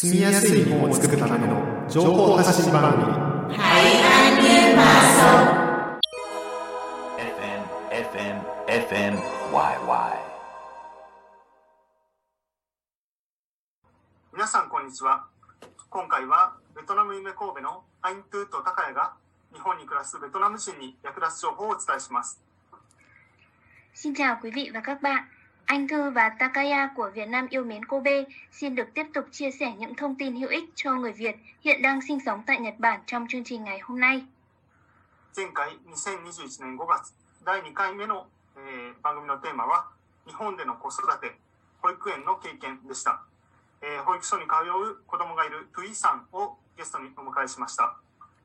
住みやすい日本を作るための情報発信番組 FMFMFMYY。 皆さんこんにちは。今回はベトナム夢神戸のアイントゥと高谷が日本に暮らすベトナム人に役立つ情報をお伝えします。 Xin chào quý vị và các bạn. Anh Thư và Takaya của Việt Nam yêu mến Kobe xin được tiếp tục chia sẻ những thông tin hữu ích cho người Việt hiện đang sinh sống tại Nhật Bản trong chương trình ngày hôm nay. 前回2021年5月第2回目の、番組のテーマは日本での子育て保育園の経験でした。保育所に通う子供がいるトゥイさんをゲストにお迎えしました。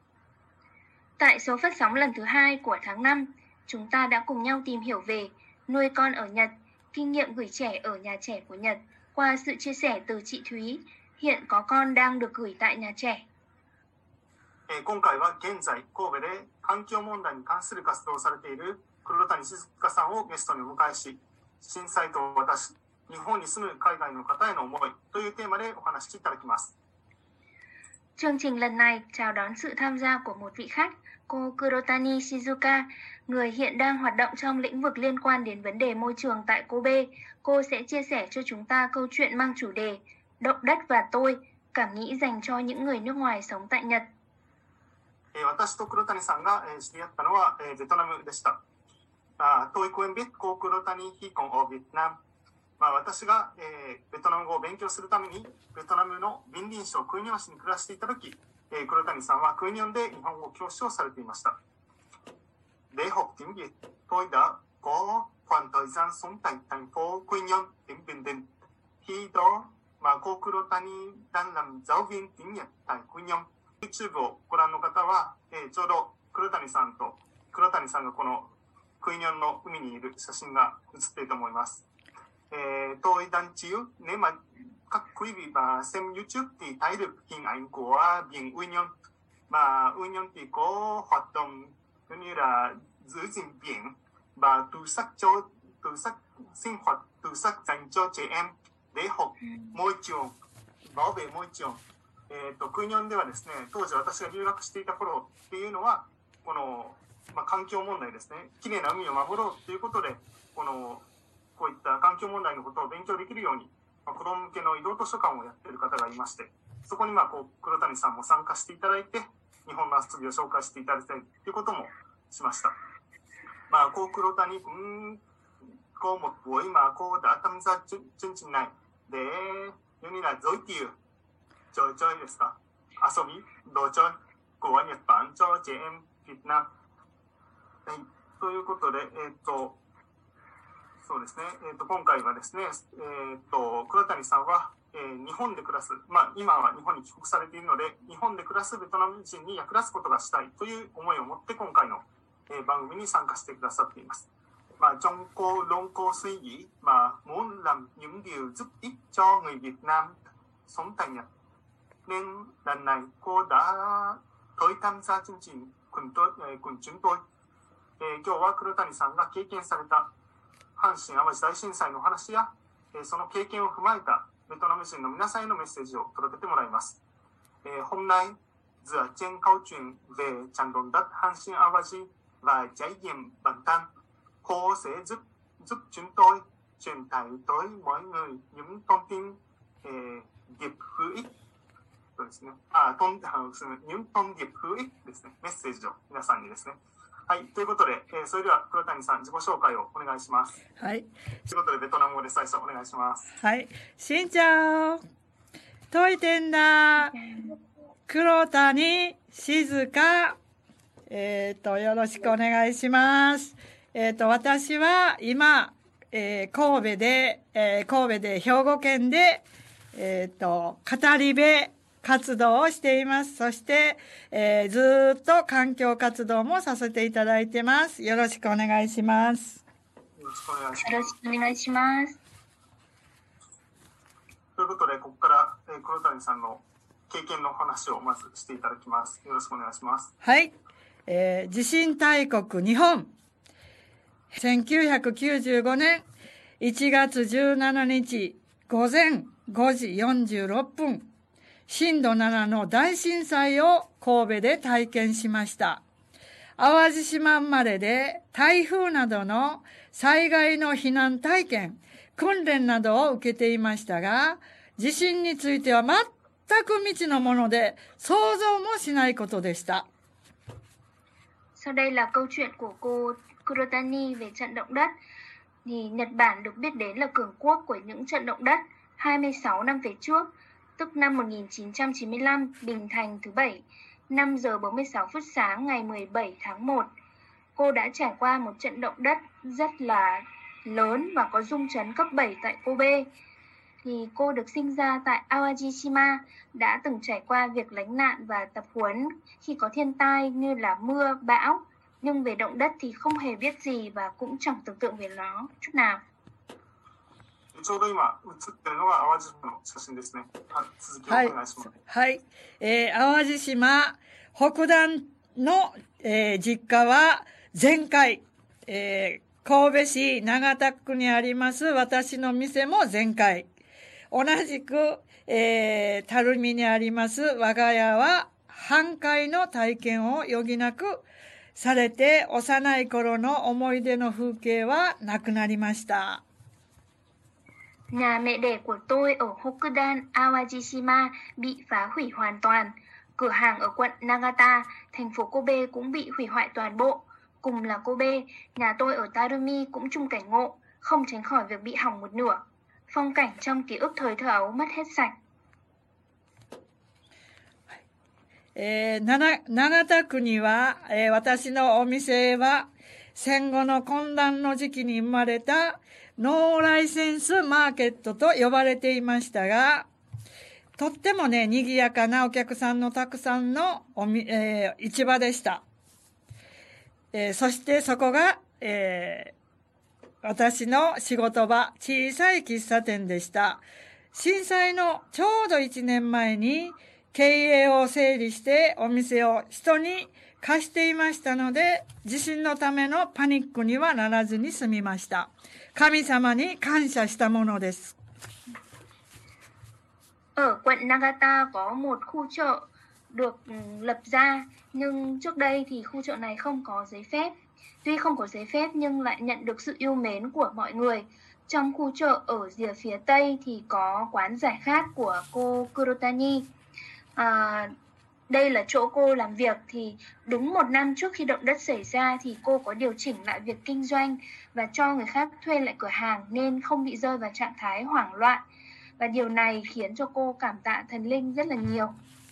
Tại số phát sóng lần thứ 2 của tháng 5, chúng ta đã cùng nhau tìm hiểu về nuôi con ở Nhật, kinh nghiệm gửi trẻ ở nhà trẻ của Nhật qua sự chia sẻ từ chị Thúy, hiện có con đang được gửi tại nhà trẻ. 今回は現在神戸で環境問題に関する活動をされている黒谷静香さんをゲストにお迎えし、震災と私、日本に住む海外の方への思いというテーマでお話しいただきます。 Chương trình lần này chào đón sự tham gia của một vị khách, cô Kurotani Shizuka, người hiện đang hoạt động trong lĩnh vực liên quan đến vấn đề môi trường tại Kobe. Cô sẽ chia sẻ cho chúng ta câu chuyện mang chủ đề Động đất và tôi, cảm nghĩ dành cho những người nước ngoài sống tại Nhật. 私と黒谷さんが知り合ったのはベトナムでした。tôi quen biết cô Kurotani khi còn ở Việt Nam. 私がベトナム語を勉強するためにベトナムのビンディン省クイニョン市に暮らしていた時、黒谷さんはクイニョンで日本語教師をされていました。 Để học tiếng Việt, tôi đã có khoảng thời gian sống tại thành phố Quy Nhơn, tỉnh Bình Định. Khi đó mà cô Kurotani đang làm giáo viên tiếng Nhật tại Quy Nhơn. YouTube をご覧の方は、ちょうど黒谷さんがこのクイニョンの海にいる写真が写っていると思います。tôi đang chiếu nếu mà các quý vị mà xem YouTube thì thấy được hình ảnh của biển Quy Nhơn. Mà Quy Nhơn thì có hoạt động như là giữ gìn biển và tủ sách sinh hoạt, tủ sách dành cho trẻ em để học môi trường, bảo vệ môi trường. クイニョンではですね、当時私が留学していた頃っていうのはこの、環境問題ですね、きれいな海を守ろうということでこういった環境問題のことを勉強できるように、子ども向けの移動図書館をやっている方がいまして、そこに黒谷さんも参加していただいて日本の遊びを紹介していただきたいということもしました。cô Kurotani cũng có một buổi mà cô đã tham gia chương trình này để giống như là giới thiệu trò chơiですか、遊び、đồ chơi của Nhật Bản cho trẻ em Việt Nam。ということで、そうですね、今回はですね、黒谷さんは、日本で暮らす、今は日本に帰国されているので、日本で暮らすベトナム人に役立つことがしたいという思いを持って今回の、番組に参加してくださっています。trong cô luôn cô suy nghĩ muốn làm những điều giúp ích cho người Việt Nam sống tại Nhật. Nên lần này cô đã tới tham gia chương trình cùng chúng tôi。今日は黒谷さんが経験された阪神・淡路大震災の話や、その経験を踏まえたベトナム人の皆さんへのメッセージを届けてもらいます。Hôm nay dựa trên câu chuyện về trận động đất Hàn Sinh Awaji và trải nghiệm bản thân, cô sẽ giúp chúng tôi truyền tải tới mọi người những thông tin điệp hữu ích。そうですね。những thông điệp hữu íchですね。メッセージを皆さんにですね。はい、ということで、それでは黒谷さん自己紹介をお願いします。 はい。 ということでベトナム語で最初お願いします。 はい。しんちゃん、といてんだ。黒谷静香。よろしくお願いします。私は今、神戸で兵庫県で語り部活動をしています。そして、ずっと環境活動もさせていただいてます。よろしくお願いします。 よろしくお願いします。 よろしくお願いします。 ということで、ここから、黒谷さんの経験の話をまずしていただきます。よろしくお願いします。 はい。地震大国日本。1995年1月17日午前5時46分。 震度7の大震災を神戸で体験しました。淡路島生まれで台風などの災害の避難体験、訓練などを受けていましたが、地震については全く未知のもので想像もしないことでした。 Sau đây là câu chuyện của cô Kurotani về trận động đất. Thì Nhật Bản được biết đến là cường quốc của những trận động đất 26 năm về trước, tức năm 1995, Bình Thành thứ 7, 5 giờ 46 phút sáng ngày 17 tháng 1. Cô đã trải qua một trận động đất rất là lớn và có rung chấn cấp 7 tại Kobe. Thì cô được sinh ra tại Awajishima, đã từng trải qua việc lánh nạn và tập huấn khi có thiên tai như là mưa, bão. Nhưng về động đất thì không hề biết gì và cũng chẳng tưởng tượng về nó chút nào. ちょうど今映ってるのが淡路島の写真ですね。続きをお願いします。 はい。淡路島北段の、実家は全壊。神戸市長田区にあります私の店も全壊。同じく、垂水にあります我が家は半壊の体験を余儀なくされて、幼い頃の思い出の風景はなくなりました。 Nhà mẹ đẻ của tôi ở Hokudan, Awajishima bị phá hủy hoàn toàn. Cửa hàng ở quận Nagata, thành phố Kobe cũng bị hủy hoại toàn bộ. Cùng là Kobe, nhà tôi ở Tarumi cũng chung cảnh ngộ, không tránh khỏi việc bị hỏng một nửa. Phong cảnh trong ký ức thời thơ ấu mất hết sạch. 長田区には、私のお店は戦後の混乱の時期に生まれたノーライセンスマーケットと呼ばれていましたが、とってもね、賑やかなお客さんのたくさんの市場でした。そしてそこが、私の仕事場、小さい喫茶店でした。震災のちょうど1年前に経営を整理してお店を人に貸していましたので、地震のためのパニックにはならずに済みました。神様に感謝したものです。 Ở quận Nagata có một khu chợ được lập ra, nhưng trước đây thì khu chợ này không có giấy phép. Tuy không có giấy phép nhưng lại nhận được sự yêu mến của mọi người. Trong khu chợ ở rìa phía Tây thì có quán giải khát của cô Kurotani. Đây là chỗ cô làm việc. Thì đúng một năm trước khi động đất xảy ra thì cô có điều chỉnh lại việc kinh doanh và cho người khác thuê lại cửa hàng nên không bị rơi vào trạng thái hoảng loạn. Và điều này khiến cho cô cảm tạ thần linh rất là nhiều.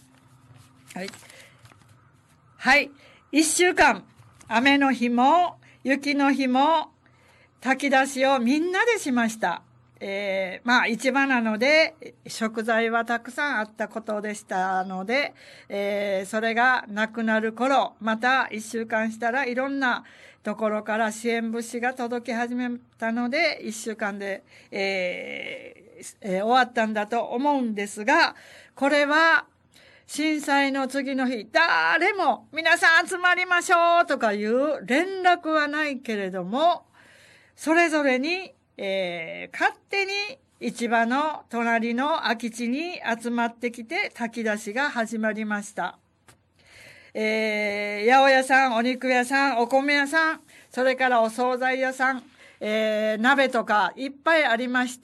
はい。1週間、雨の日も雪の日も炊き出しをみんなでしました。市場なので食材はたくさんあったことでしたので、それがなくなる頃、また1週間したらいろんなところから支援物資が届き始めたので、1週間で、終わったんだと思うんですが、これは震災の次の日、誰も皆さん集まりましょうとかいう連絡はないけれども、それぞれに、勝手に市場の隣の空き地に集まってきて炊き出しが始まりました。八百屋さん、お肉屋さん、お米屋さん、それからお惣菜屋さん、鍋とかいっぱいありまして、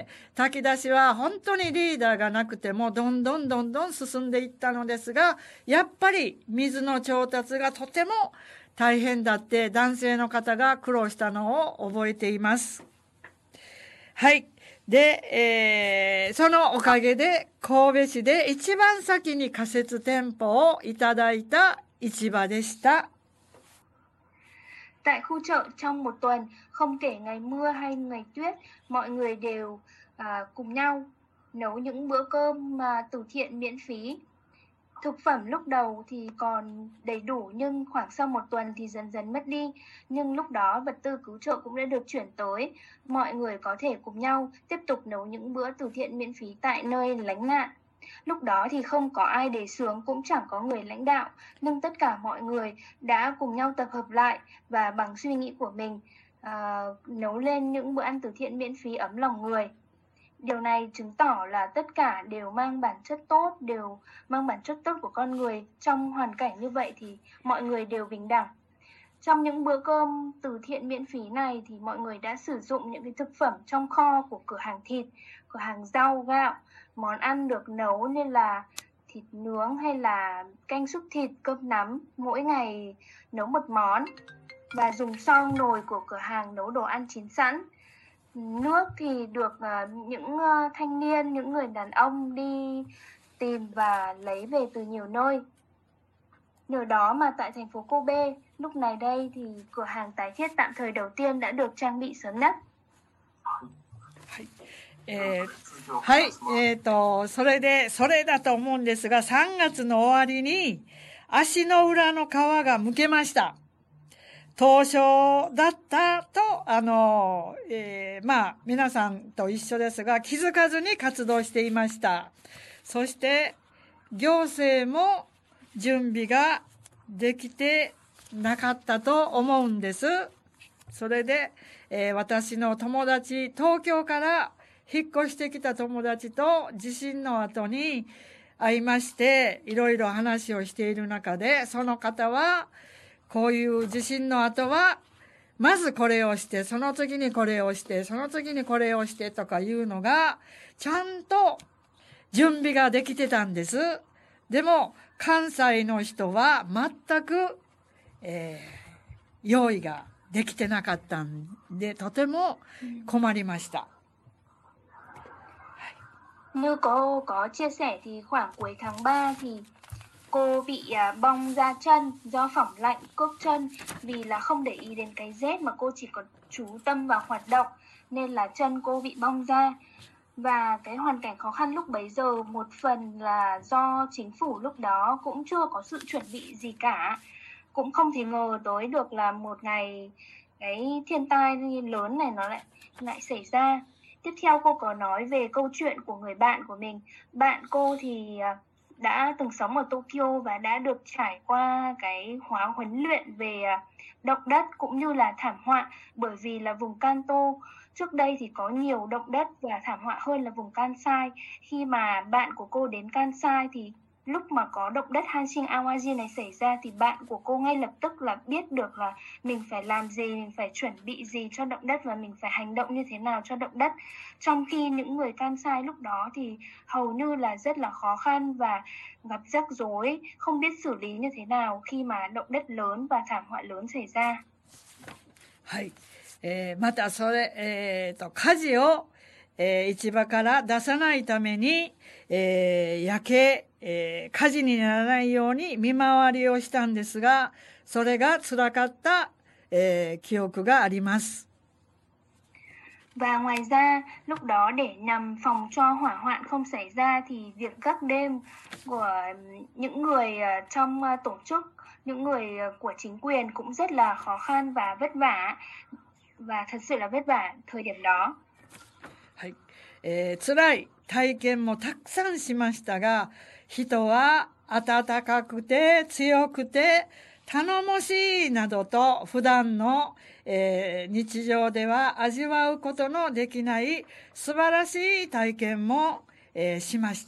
炊き出しは本当にリーダーがなくてもどんどん進んでいったのですが、やっぱり水の調達がとても大変だって男性の方が苦労したのを覚えています。はい。で、そのおかげで神戸市で一番先に仮設店舗をいただいた市場でした。 Tại khu chợ trong một tuần, không kể ngày mưa hay ngày tuyết, mọi người đều cùng nhau nấu những bữa cơm từ thiện miễn phí. Thực phẩm lúc đầu thì còn đầy đủ nhưng khoảng sau một tuần thì dần dần mất đi. Nhưng lúc đó vật tư cứu trợ cũng đã được chuyển tới. Mọi người có thể cùng nhau tiếp tục nấu những bữa từ thiện miễn phí tại nơi lánh nạn. Lúc đó thì không có ai đề xướng, cũng chẳng có người lãnh đạo, nhưng tất cả mọi người đã cùng nhau tập hợp lại và bằng suy nghĩ của mình nấu lên những bữa ăn từ thiện miễn phí ấm lòng người. Điều này chứng tỏ là tất cả đều mang bản chất tốt, đều mang bản chất tốt của con người. Trong hoàn cảnh như vậy thì mọi người đều bình đẳng. Trong những bữa cơm từ thiện miễn phí này thì mọi người đã sử dụng những cái thực phẩm trong kho của cửa hàng thịt, cửa hàng rau, gạo, món ăn được nấu như là thịt nướng hay là canh súp thịt, cơm nắm, mỗi ngày nấu một món, và dùng xoong nồi của cửa hàng nấu đồ ăn chín sẵn. Nước thì được những thanh niên, những người đàn ông đi tìm và lấy về từ nhiều nơi. Nhờ đó mà tại thành phố Kobe, lúc này đây thì cửa hàng tái thiết tạm thời đầu tiên đã được trang bị sớm nhất. はい、それだと思うんですが、3月の終わりに足の裏の皮が剥けました。凍傷だったと、まあ、皆さんと一緒ですが、気づかずに活動していました。そして、行政も準備ができてなかったと思うんです。それで、私の友達、東京から引っ越してきた友達と地震の後に会いまして、いろいろ話をしている中で、その方は、こういう地震の後は、まずこれをして、その次にこれをして、その次にこれをしてとかいうのが、ちゃんと準備ができてたんです。でも、関西の人は全く、用意ができてなかったんで、とても困りました。 Như cô có chia sẻ thì khoảng cuối tháng 3 thì cô bị bong da chân do phỏng lạnh cốc chân, vì là không để ý đến cái rét mà cô chỉ có chú tâm vào hoạt động nên là chân cô bị bong ra. Và cái hoàn cảnh khó khăn lúc bấy giờ một phần là do chính phủ lúc đó cũng chưa có sự chuẩn bị gì cả, cũng không thể ngờ tới được là một ngày cái thiên tai lớn này nó lại xảy ra. Tiếp theo cô có nói về câu chuyện của người bạn của mình. Bạn cô thì đã từng sống ở Tokyo và đã được trải qua cái khóa huấn luyện về động đất cũng như là thảm họa, bởi vì là vùng Kanto trước đây thì có nhiều động đất và thảm họa hơn là vùng Kansai. Khi mà bạn của cô đến Kansai thì lúc mà có động đất Hanshin Awaji này xảy ra thì bạn của cô ngay lập tức là biết được là mình phải làm gì, mình phải chuẩn bị gì cho động đất và mình phải hành động như thế nào cho động đất. Trong khi những người Kansai lúc đó thì hầu như là rất là khó khăn và gặp rắc rối, không biết xử lý như thế nào khi mà động đất lớn và thảm họa lớn xảy ra. はい。またそれ、火事を、市場から出さないために、焼け、火事にならないように見回りをしたんですが、それが辛かった、記憶があります。 Và ngoài ra, lúc đó để nhằm phòng cho hỏa hoạn không xảy ra thì việc gác đêm của những người trong tổ chức, những người của chính quyền cũng rất là khó khăn và vất vả, và thật sự là vất vả thời điểm đó. はい。辛い体験もたくさんしましたが、人は温かくて強くて頼もしいなどと普段の、日常では味わうことのできない素晴らしい体験も、しました。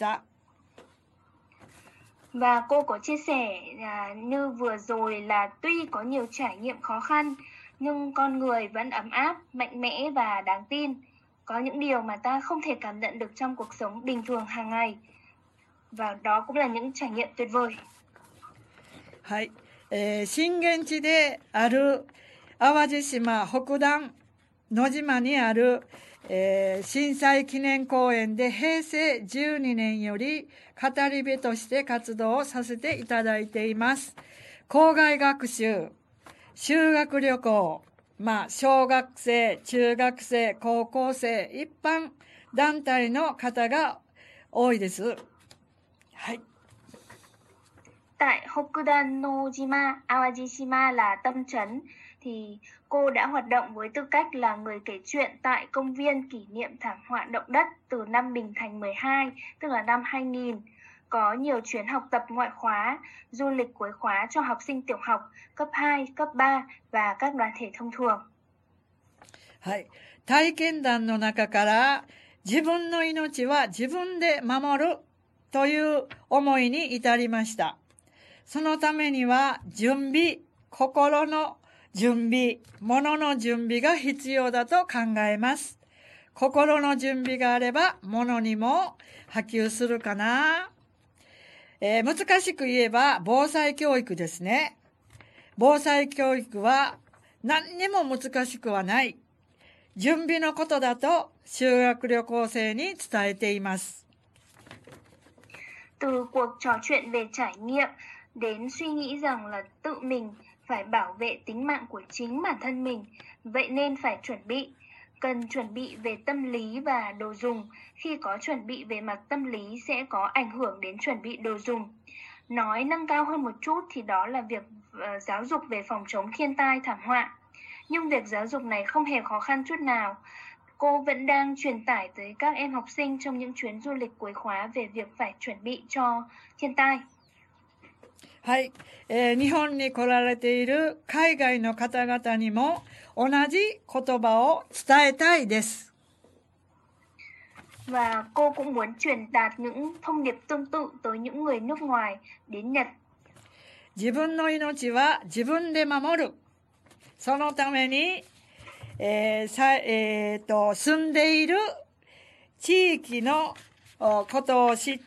Và cô có chia sẻ như vừa rồi là tuy có nhiều trải nghiệm khó khăn nhưng con người vẫn ấm áp, mạnh mẽ và đáng tin. Có những điều mà ta không thể cảm nhận được trong cuộc sống bình thường hàng ngày. Và đó cũng là những trải nghiệm tuyệt vời. はい。震源地である淡路島北段野島にある、震災記念公園で平成12年より語り部として活動をさせていただいています。校外学習、修学旅行、小学生、中学生、高校生、一般団体の方が多いです。はい。 Tại Hokudan no Jima, Awajishima là tâm trấn, thì cô đã hoạt động với tư cách là người kể chuyện tại công viên kỷ niệm thảm họa động đất từ năm Bình Thành 12, tức là năm 2000. Có nhiều chuyến học tập ngoại khóa, du lịch cuối khóa cho học sinh tiểu học, cấp 2, cấp 3 và các đoàn thể thông thường. はい。体験談の中から、 自分の命は自分で守るという思いに至りました。そのためには準備、心の準備、物の準備が必要だと考えます。心の準備があれば物にも波及するかな。難しく言えば防災教育ですね。防災教育は何にも難しくはない。準備のことだと修学旅行生に伝えています。 Từ cuộc trò chuyện về trải nghiệm đến suy nghĩ rằng là tự mình phải bảo vệ tính mạng của chính bản thân mình, vậy nên phải chuẩn bị. Cần chuẩn bị về tâm lý và đồ dùng. Khi có chuẩn bị về mặt tâm lý sẽ có ảnh hưởng đến chuẩn bị đồ dùng. Nói nâng cao hơn một chút thì đó là việc giáo dục về phòng chống thiên tai thảm họa. Nhưng việc giáo dục này không hề khó khăn chút nào. Cô vẫn đang truyền tải tới các em học sinh trong những chuyến du lịch cuối khóa về việc phải chuẩn bị cho thiên tai. はい、日本に来られている海外の方々にも同じ言葉を伝えたいです。 Và cô cũng muốn truyền đạt những thông điệp tương tự tới những người nước ngoài đến Nhật. 自分の命は自分で守る。そのために、住んでいる地域のことを知って、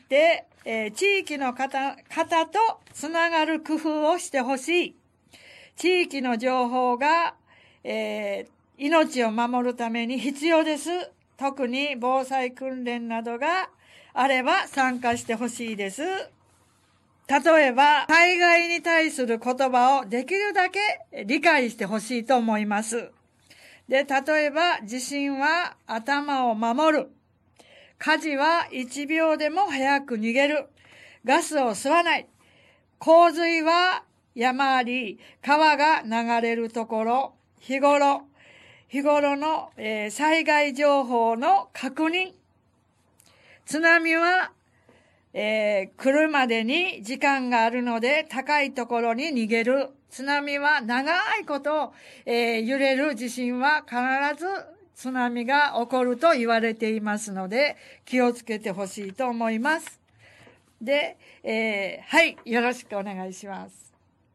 地域の方とつながる工夫をしてほしい。地域の情報が、命を守るために必要です。特に防災訓練などがあれば参加してほしいです。例えば、災害に対する言葉をできるだけ理解してほしいと思います。で、例えば、地震は頭を守る。火事は1秒でも早く逃げる。ガスを吸わない。洪水は山あり、川が流れるところ、日頃の、災害情報の確認。津波は、来るまでに時間があるので高いところに逃げる。津波は長いこと、揺れる地震は必ず津波が起こると言われていますので気をつけてほしいと思います。で、はい、よろしくお願いします。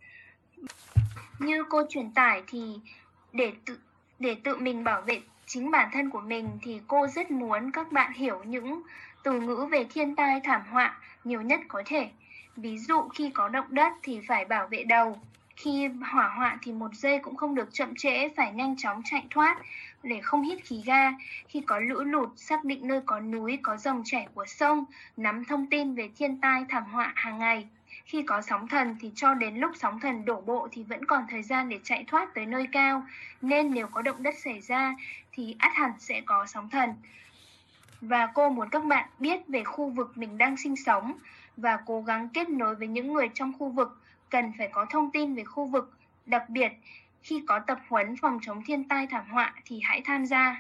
Như cô truyền tải thì để tự mình bảo vệ chính bản thân của mình thì cô rất muốn các bạn hiểu những từ ngữ về thiên tai thảm họa nhiều nhất có thể. Ví dụ khi có động đất thì phải bảo vệ đầu. Khi hỏa hoạn thì 1 giây cũng không được chậm trễ, phải nhanh chóng chạy thoát để không hít khí ga. Khi có lũ lụt, xác định nơi có núi, có dòng chảy của sông, nắm thông tin về thiên tai thảm họa hàng ngày. Khi có sóng thần thì cho đến lúc sóng thần đổ bộ thì vẫn còn thời gian để chạy thoát tới nơi cao. Nên nếu có động đất xảy ra thì ắt hẳn sẽ có sóng thần. Và cô muốn các bạn biết về khu vực mình đang sinh sống và cố gắng kết nối với những người trong khu vực, cần phải có thông tin về khu vực. Đặc biệt, khi có tập huấn phòng chống thiên tai thảm họa thì hãy tham gia.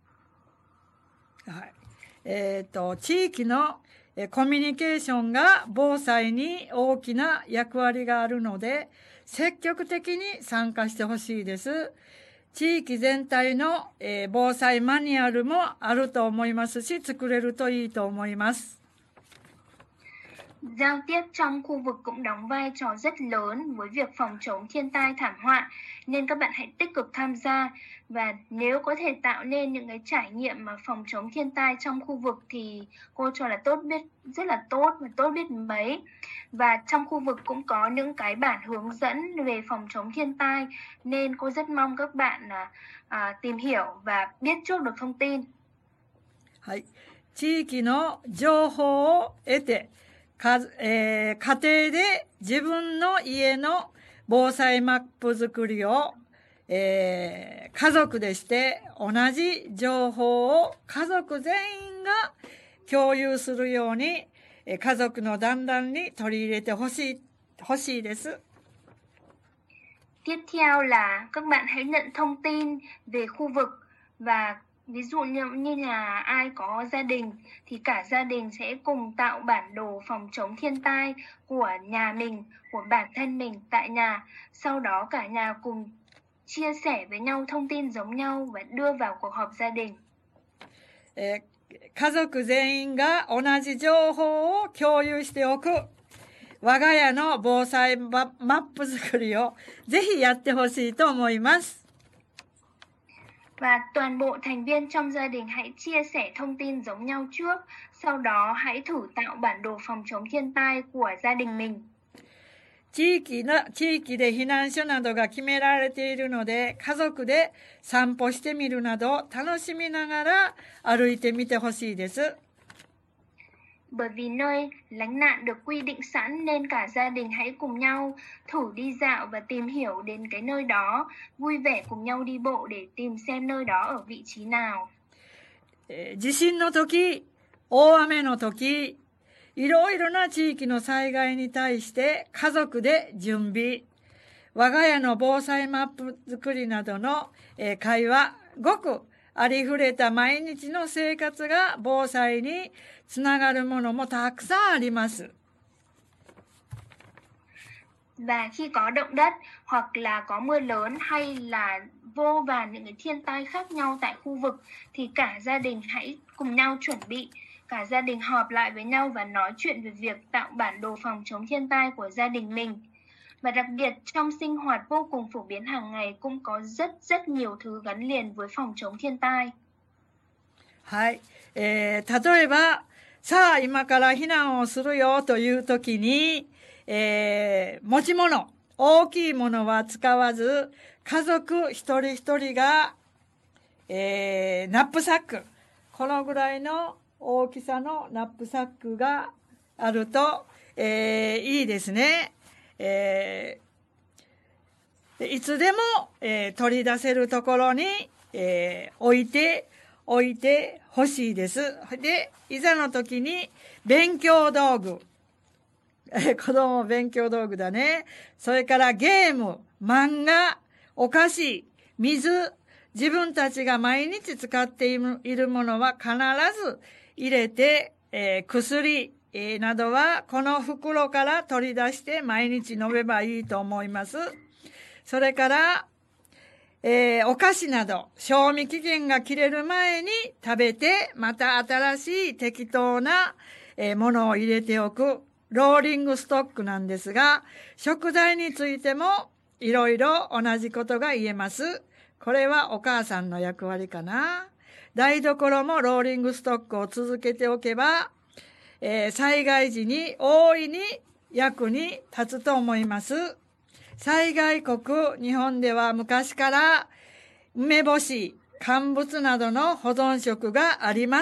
地域のコミュニケーションが防災に大きな役割があるので、積極的に参加してほしいです。地域全体の防災マニュアルもあると思いますし、作れるといいと思います。 Giao tiếp trong khu vực cũng đóng vai trò rất lớn với việc phòng chống thiên tai thảm họa, nên các bạn hãy tích cực tham gia. Và nếu có thể tạo nên những cái trải nghiệm mà phòng chống thiên tai trong khu vực thì cô cho là rất là tốt và tốt biết mấy. Và trong khu vực cũng có những cái bản hướng dẫn về phòng chống thiên tai, nên cô rất mong các bạn tìm hiểu và biết trước được thông tin. はい、地域の情報を得て、家庭で自分の家の防災マップ作りを、家族でして同じ情報を家族全員が共有するように、家族の団らんに取り入れてほしいです。 Tiếp theo là các bạn hãy nhận thông tin về khu vực và ví dụ như là ai có gia đình thì cả gia đình sẽ cùng tạo bản đồ phòng chống thiên tai của nhà mình, của bản thân mình tại nhà. Sau đó cả nhà cùng chia sẻ với nhau thông tin giống nhau và đưa vào cuộc họp gia đình. 家族全員が同じ情報を共有しておく。我が家の防災マップ作りをぜひやってほしいと思います。 Và toàn bộ thành viên trong gia đình hãy chia sẻ thông tin giống nhau trước, sau đó hãy thử tạo bản đồ phòng chống thiên tai của gia đình mình. 地域で避難所などが決められているので、家族で散歩してみるなど楽しみながら歩いてみてほしいです。 Bởi vì nơi lánh nạn được quy định sẵn nên cả gia đình hãy cùng nhau thử đi dạo và tìm hiểu đến cái nơi đó, vui vẻ cùng nhau đi bộ để tìm xem nơi đó ở vị trí nào. 地震の時、大雨の時、いろいろな地域の災害に対して家族で準備、我が家の防災マップ作りなどの会話、ごくありふれた毎日の生活が防災につながるものもたくさんあります。 Và khi có động đất hoặc là có mưa lớn hay là vô vàn những cái thiên tai khác nhau tại khu vực thì cả gia đình hãy cùng nhau chuẩn bị, cả gia đình họp lại với nhau và nói chuyện về việc tạo bản đồ phòng chống thiên tai của gia đình mình. Và đặc biệt trong sinh hoạt vô cùng phổ biến hàng ngày cũng có rất nhiều thứ gắn liền với phòng chống thiên tai. はい。例えば、さあ今から避難をするよという時に、持ち物、大きいものは使わず、家族一人一人が、ナップサック、このぐらいの大きさのナップサックがあると、いいですね。いつでも、取り出せるところに、置いてほしいです。で、いざの時に勉強道具。子供勉強道具だね。それからゲーム、漫画、お菓子、水、自分たちが毎日使っているものは必ず入れて、薬、などはこの袋から取り出して毎日飲めばいいと思います。それから、お菓子など賞味期限が切れる前に食べてまた新しい適当なものを入れておくローリングストックなんですが、食材についてもいろいろ同じことが言えます。これはお母さんの役割かな。台所もローリングストックを続けておけば、災害時に大いに役に立つと思います。災害国日本では昔から梅干し、乾物などの保存食があります。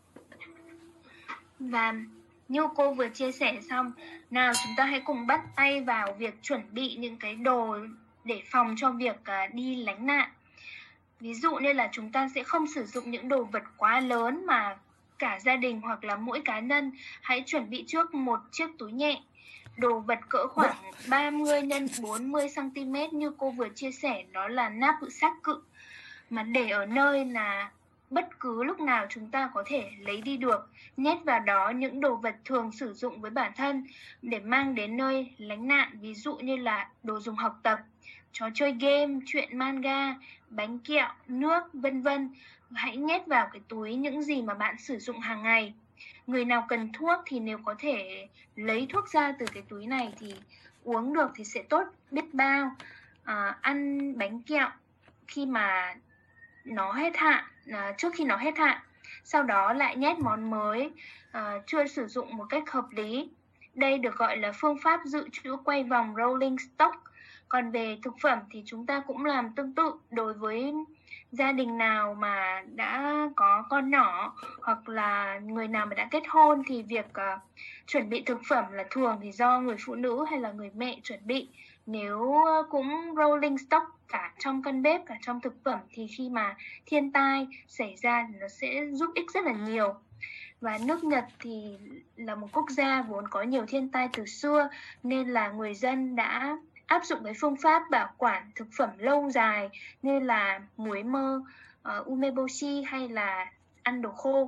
Và như cô vừa chia sẻ xong, nào chúng ta hãy cùng bắt tay vào việc chuẩn bị những cái đồ để phòng cho việc đi lánh nạn. Ví dụ như là chúng ta sẽ không sử dụng những đồ vật quá lớn mà cả gia đình hoặc là mỗi cá nhân hãy chuẩn bị trước một chiếc túi nhẹ. Đồ vật cỡ khoảng 30 x 40 cm như cô vừa chia sẻ, đó là nắp xác cự mà để ở nơi là bất cứ lúc nào chúng ta có thể lấy đi được. Nhét vào đó những đồ vật thường sử dụng với bản thân để mang đến nơi lánh nạn, ví dụ như là đồ dùng học tập, trò chơi game, truyện manga, bánh kẹo, nước, vân vân. Hãy nhét vào cái túi những gì mà bạn sử dụng hàng ngày. Người nào cần thuốc thì nếu có thể lấy thuốc ra từ cái túi này thì uống được thì sẽ tốt biết bao. Ăn bánh kẹo khi mà nó hết hạn, trước khi nó hết hạn, sau đó lại nhét món mới chưa sử dụng một cách hợp lý. Đây được gọi là phương pháp dự trữ quay vòng rolling stock. Còn về thực phẩm thì chúng ta cũng làm tương tự. Đối với gia đình nào mà đã có con nhỏ hoặc là người nào mà đã kết hôn thì việc chuẩn bị thực phẩm là thường thì do người phụ nữ hay là người mẹ chuẩn bị. Nếu cũng rolling stock cả trong căn bếp, cả trong thực phẩm thì khi mà thiên tai xảy ra thì nó sẽ giúp ích rất là nhiều. Và nước Nhật thì là một quốc gia vốn có nhiều thiên tai từ xưa nên là người dân đã áp dụng cái phương pháp bảo quản thực phẩm lâu dài như là muối mơ, umeboshi hay là ăn đồ khô.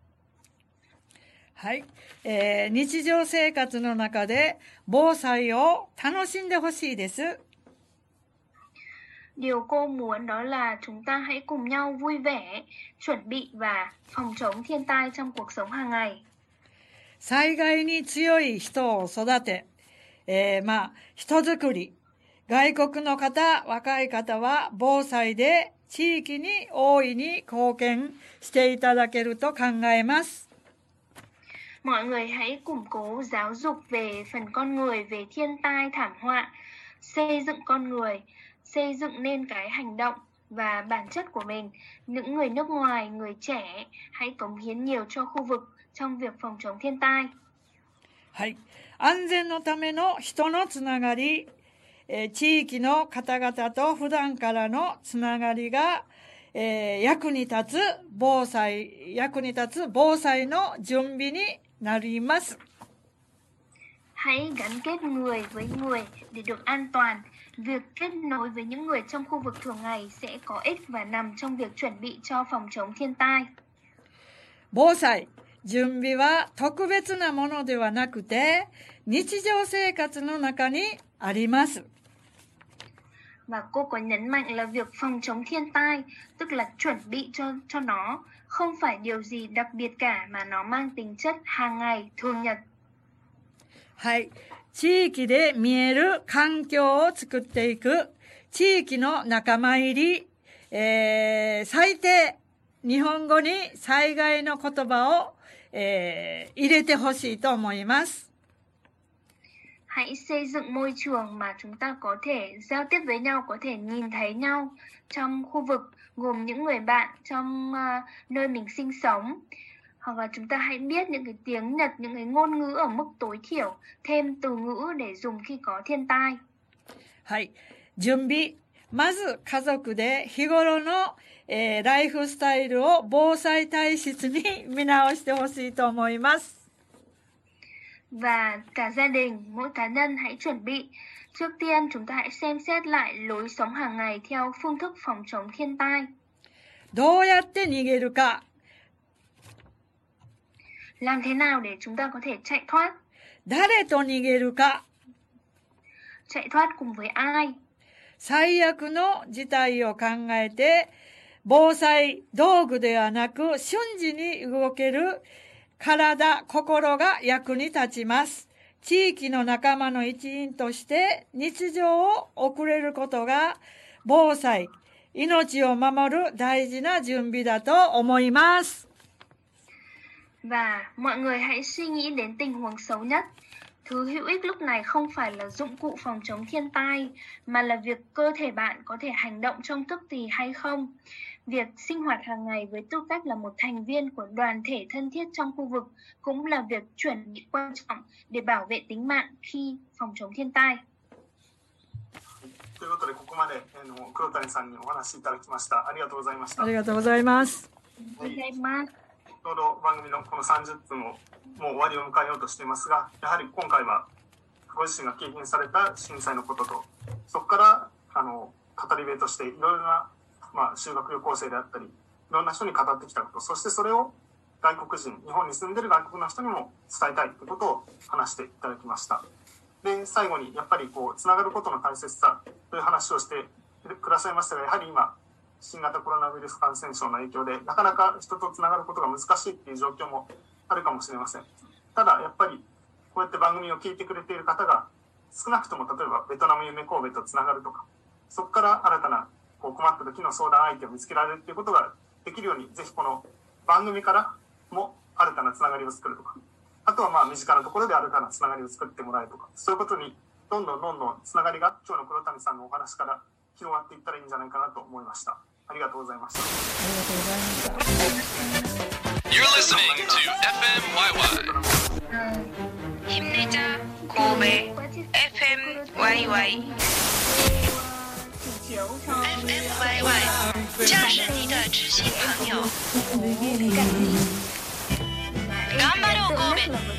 はい、日常生活の中で防災を楽しんでほしいです。 Điều cô muốn đó là chúng ta hãy cùng nhau vui vẻ, chuẩn bị và phòng chống thiên tai trong cuộc sống hàng ngày. 災害に強い人を育て、人づくり。外国の方、若い方は防災で地域に大いに貢献していただけると考えます。 Mọi người hãy củng cố giáo dục về phần con người, về thiên tai, thảm họa, xây dựng con người, xây dựng nên cái hành động và bản chất của mình. Những người nước ngoài, người trẻ hãy cống hiến nhiều cho khu vực trong việc phòng chống thiên tai. はい。安全のための人のつながり、地域の方々と普段からのつながりが、役に立つ防災の準備になります。 Hãy gắn kết người với người để được an toàn. Việc kết nối với những người trong khu vực thường ngày sẽ có ích và nằm trong việc chuẩn bị cho phòng chống thiên tai. 防災、準備は特別なものではなくて、日常生活の中にあります。 Và cô có nhấn mạnh là việc phòng chống thiên tai, tức là chuẩn bị cho nó, không phải điều gì đặc biệt cả mà nó mang tính chất hàng ngày, thường nhật. はい。地域で見える環境を作っていく、地域の仲間入り、最低、日本語に災害の言葉を、入れてほしいと思います。 Hãy xây dựng môi trường mà chúng ta có thể giao tiếp với nhau, có thể nhìn thấy nhau trong khu vực, gồm những người bạn trong nơi mình sinh sống. Hoặc là chúng ta hãy biết những cái tiếng Nhật, những cái ngôn ngữ ở mức tối thiểu, thêm từ ngữ để dùng khi có thiên tai. はい。準備。まず家族で日頃の、ライフスタイルを防災体質に見直してほしいと思います。 Và cả gia đình, mỗi cá nhân hãy chuẩn bị. Trước tiên chúng ta hãy xem xét lại lối sống hàng ngày theo phương thức phòng chống thiên tai. どうやって逃げるか。 Làm thế nào để chúng ta có thể chạy thoát? 誰と逃げるか。 Chạy thoát cùng với ai? 最悪の事態を考えて、防災道具ではなく瞬時に動ける体、心が役に立ちます。地域の仲間の一員として日常を送れることが防災、命を守る大事な準備だと思います。 Và mọi người hãy suy nghĩ đến tình huống xấu nhất. Thứ hữu ích lúc này không phải là dụng cụ phòng chống thiên tai, mà là việc cơ thể bạn có thể hành động trong tức thì hay không. Việc sinh hoạt hàng ngày với tư cách là một thành viên của đoàn thể thân thiết trong khu vực cũng là việc chuẩn bị quan trọng để bảo vệ tính mạng khi phòng chống thiên tai. ということで、ここまで黒谷さんにお話しいただきました。ありがとうございました。 ありがとうございます。 ちょうど番組のこの30分をもう終わりを迎えようとしていますが、やはり今回はご自身が経験された震災のことと、そこから語り部としていろいろな、修学旅行生であったり、いろんな人に語ってきたこと、そしてそれを外国人、日本に住んでいる外国の人にも伝えたいということを話していただきました。で、最後にやっぱりつながることの大切さという話をしてくださいましたが、やはり今、新型コロナウイルス感染症の影響でなかなか人とつながることが難しいっていう状況もあるかもしれません。ただやっぱりこうやって番組を聞いてくれている方が少なくとも例えばベトナム夢神戸とつながるとか、そこから新たな困った時の相談相手を見つけられるっていうことができるように、ぜひこの番組からも新たなつながりを作るとか、あとは身近なところで新たなつながりを作ってもらえるとか、そういうことにどんどんつながりが今日の黒谷さんのお話から広がっていったらいいんじゃないかなと思いました。ありがとうございました。 You're listening to FMYY. 힘내자 고베 FMYY. FMYY 这是你的知心朋友。頑張ろう神戸。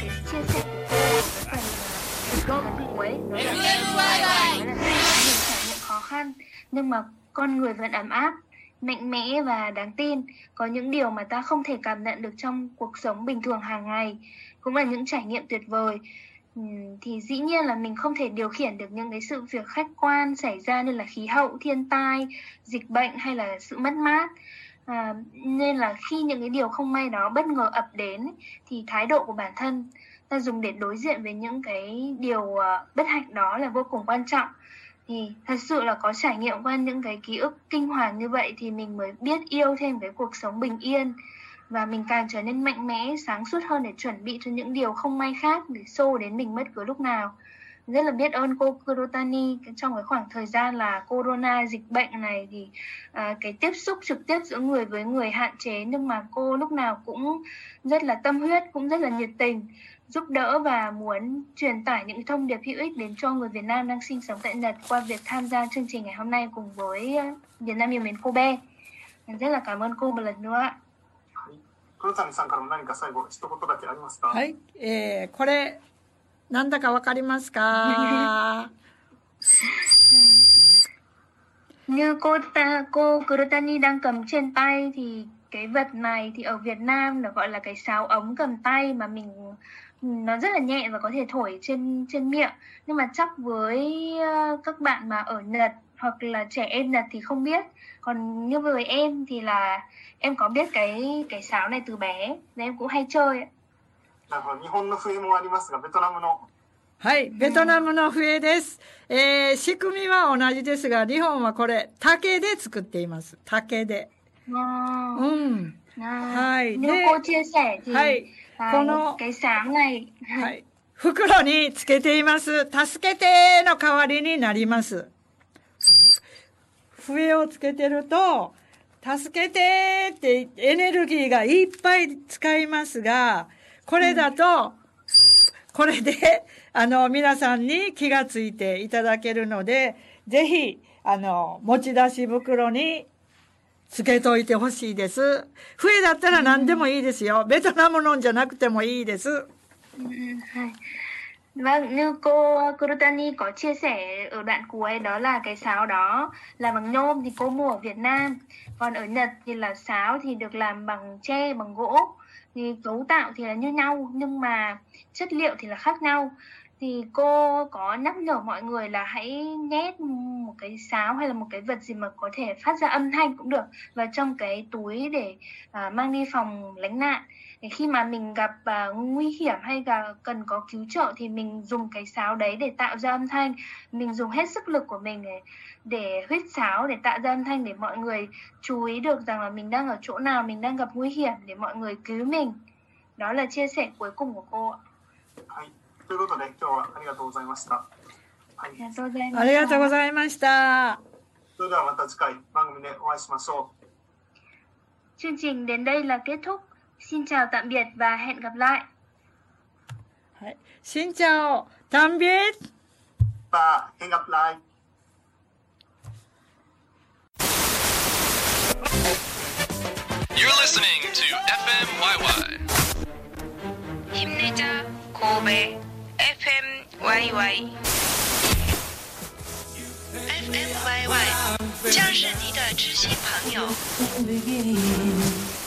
khó khăn nhưng mà con người vẫn ấm áp, mạnh mẽ và đáng tin. Có những điều mà ta không thể cảm nhận được trong cuộc sống bình thường hàng ngày, cũng là những trải nghiệm tuyệt vời thì dĩ nhiên là mình không thể điều khiển được những cái sự việc khách quan xảy ra như là khí hậu, thiên tai, dịch bệnh hay là sự mất mát. Nên là khi những cái điều không may đó bất ngờ ập đến thì thái độ của bản thân ta dùng để đối diện với những cái điều bất hạnh đó là vô cùng quan trọng. Thì thật sự là có trải nghiệm qua những cái ký ức kinh hoàng như vậy thì mình mới biết yêu thêm cái cuộc sống bình yên, và mình càng trở nên mạnh mẽ, sáng suốt hơn để chuẩn bị cho những điều không may khác để xô đến mình bất cứ lúc nào. Rất là biết ơn cô Kurotani trong cái khoảng thời gian là corona, dịch bệnh này thì cái tiếp xúc trực tiếp giữa người với người hạn chế, nhưng mà cô lúc nào cũng rất là tâm huyết, cũng rất là nhiệt tình, giúp đỡ và muốn truyền tải những thông điệp hữu ích đến cho người Việt Nam đang sinh sống tại Nhật qua việc tham gia chương trình ngày hôm nay cùng với Việt Nam yêu mến Kobe. Rất là cảm ơn cô một lần nữa ạ. 黒谷さんからも何か最後一言だけありますか？ はい、これなんだかわかりますか？ Như cô Kurotani đang cầm trên tay thì cái vật này thì ở Việt Nam nó gọi là cái sáo ống cầm tay mà nó rất là nhẹ và có thể thổi trên miệng, nhưng mà chắc với các bạn mà ở Nhật hoặc là trẻ em Nhật thì không biết. Còn như với em thì là em có biết cái sáo này từ bé nên em cũng hay chơi. なるほど。日本の笛もありますが、ベトナムの。 はい、ベトナムの笛です。仕組みは同じですが、日本はこれ竹で作っています。竹で。はい。 Như cô chia sẻ thì この cái sáo này はい、袋につけています。助けての代わりになります。笛をつけてると、助けてってエネルギーがいっぱい使いますが、これだと、これで、皆さんに気がついていただけるので、ぜひ、持ち出し袋につけといてほしいです。笛だったら何でもいいですよ。ベトナムのんじゃなくてもいいです。 Vâng, như cô Kurotani có chia sẻ ở đoạn cuối, đó là cái sáo đó là bằng nhôm thì cô mua ở Việt Nam. Còn ở Nhật thì là sáo thì được làm bằng tre, bằng gỗ. Thì cấu tạo thì là như nhau nhưng mà chất liệu thì là khác nhau. Thì cô có nhắc nhở mọi người là hãy nhét một cái sáo hay là một cái vật gì mà có thể phát ra âm thanh cũng được vào trong cái túi để mang đi phòng lánh nạn. Để khi mà mình gặp nguy hiểm hay là cần có cứu trợ thì mình dùng cái sáo đấy để tạo ra âm thanh. Mình dùng hết sức lực của mình để huýt sáo để tạo ra âm thanh để mọi người chú ý được rằng là mình đang ở chỗ nào, mình đang gặp nguy hiểm để mọi người cứu mình. Đó là chia sẻ cuối cùng của cô ạ. ということで今日はありがとうございました。 ありがとうございました。 それではまた次回番組でお会いしましょう。 Chương trình đến đây là kết thúc. Xin chào tạm biệt và hẹn gặp lại. Xin chào tạm biệt và hẹn gặp lại. You're listening to FMYY. 힘내자 Kobe FMYY. FMYY 将是你的知心朋友。